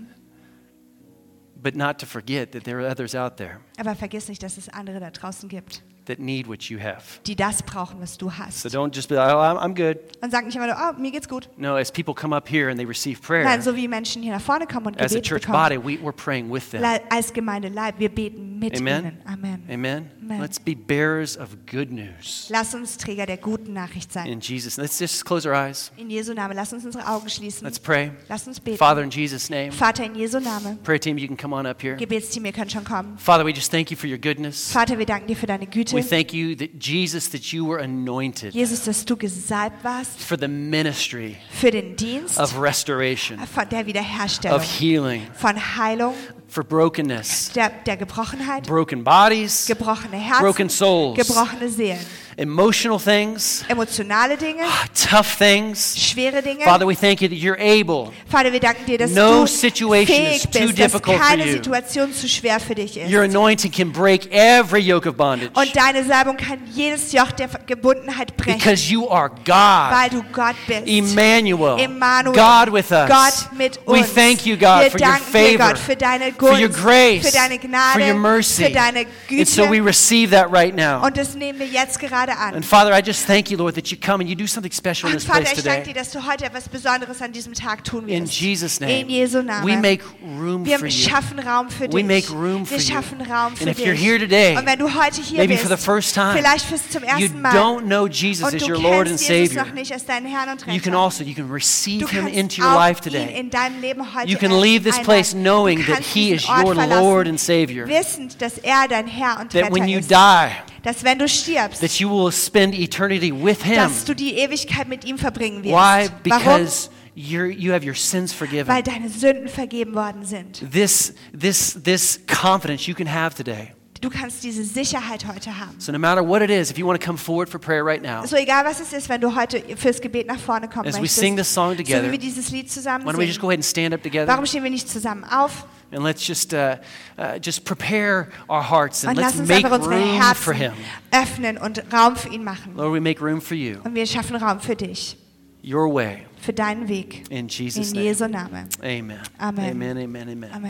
But not to forget that there are others out there
Aber vergiss nicht, dass es andere da draußen gibt,
that need what you have.
die das brauchen, was du hast.
So don't just be like, oh, I'm, I'm good.
Und sag nicht immer nur, oh, mir geht's gut.
No, as people come up here and they receive prayer,
Nein, so wie Menschen hier nach vorne kommen und
as a
Gebet
church
bekommen.
body, we, we're praying with them.
Le- Als Gemeinde Leib, wir beten mit
Amen.
ihnen. Amen.
Amen?
Amen.
Let's be bearers of good news.
Lass uns Träger der guten Nachricht sein.
In Jesus. Let's just close our eyes.
In Jesu Namen, lass uns unsere Augen schließen.
Let's pray.
Lass uns beten.
Father, in Jesus' name.
Vater, in Jesu Namen.
Prayer team, you can come on up here.
Gebetsteam, ihr könnt schon kommen.
Father, we just thank you for your goodness.
Vater, wir danken dir für deine Güte.
We thank you that Jesus, that you were anointed
Jesus, dass du gesalbt warst
for the ministry
für den Dienst
of restoration,
von der Wiederherstellung,
of healing,
von Heilung,
for brokenness,
der, der Gebrochenheit,
broken bodies,
gebrochene Herzen,
broken souls,
gebrochene Seelen,
emotional things,
emotionale Dinge,
tough things.
schwere Dinge.
Father, we thank you that you're able.
Vater, wir danken dir, dass
No
du
situation is
fähig
too
bist, dass
difficult for
keine
you.
Situation zu schwer für dich ist.
Your anointing can break every yoke of bondage
Und deine Salbung kann jedes Joch der Gebundenheit brechen,
because you are God,
weil du Gott bist.
Emmanuel,
Emmanuel,
God with us.
Gott mit uns.
We thank you, God,
wir
for your
danken dir,
favor,
Gott, für deine
for
Gunst,
your grace,
für deine Gnade,
for your mercy.
für deine Güte.
And so we receive that right now.
Und das nehmen wir jetzt gerade an.
And Father, I just thank you, Lord, that you come and you do something special in
Und
this
Vater,
place
ich danke
today.
dir, dass du heute etwas Besonderes an diesem Tag tun
In
wirst.
Jesus'
In
name,
Jesu Namen.
we make room
wir
for you.
schaffen Raum für
We
dich.
make room for
wir
you.
schaffen Raum für
And if
dich.
you're here today,
und wenn du heute hier
maybe
bist,
for the first time,
vielleicht fürs zum
you
ersten Mal,
don't know Jesus
und
as
du
your Lord and
kennst Jesus
Savior,
noch nicht als deinen Herrn und Retter,
you can also, you can receive
du
him
kannst
into your
auch
life
ihn
today.
in deinem Leben heute
You can leave this
einladen.
place knowing
Du
that
kannst
he
diesen
is
Ort
your
verlassen,
Lord and Savior.
wissend, dass er dein Herr und
That
Retter
when you
ist.
die,
Dass wenn du stirbst,
that you will spend eternity with him.
dass du die Ewigkeit mit ihm verbringen wirst.
Why?
Warum?
Because you're, you have your sins
Weil
forgiven.
deine Sünden vergeben worden sind.
This, this, this confidence you can have today.
Du kannst diese Sicherheit heute haben.
So no matter what it is, if you want to come forward for prayer right now,
So egal was es ist, wenn du heute fürs Gebet nach vorne kommen
as we
möchtest,
sing this song
so
together,
wie wir dieses Lied zusammen
why don't we just
singen.
go ahead and stand up together
Warum stehen wir nicht zusammen auf
and let's just uh, uh, just prepare our hearts and
und
let's
lass uns
make
einfach unsere
room for
Herzen
him.
öffnen und Raum für ihn machen.
Lord, we make room for you,
Und wir schaffen Raum für dich,
your way,
für deinen Weg.
in Jesus'
In
name.
Jesu Namen.
Amen.
Amen.
Amen. Amen. Amen.
Amen.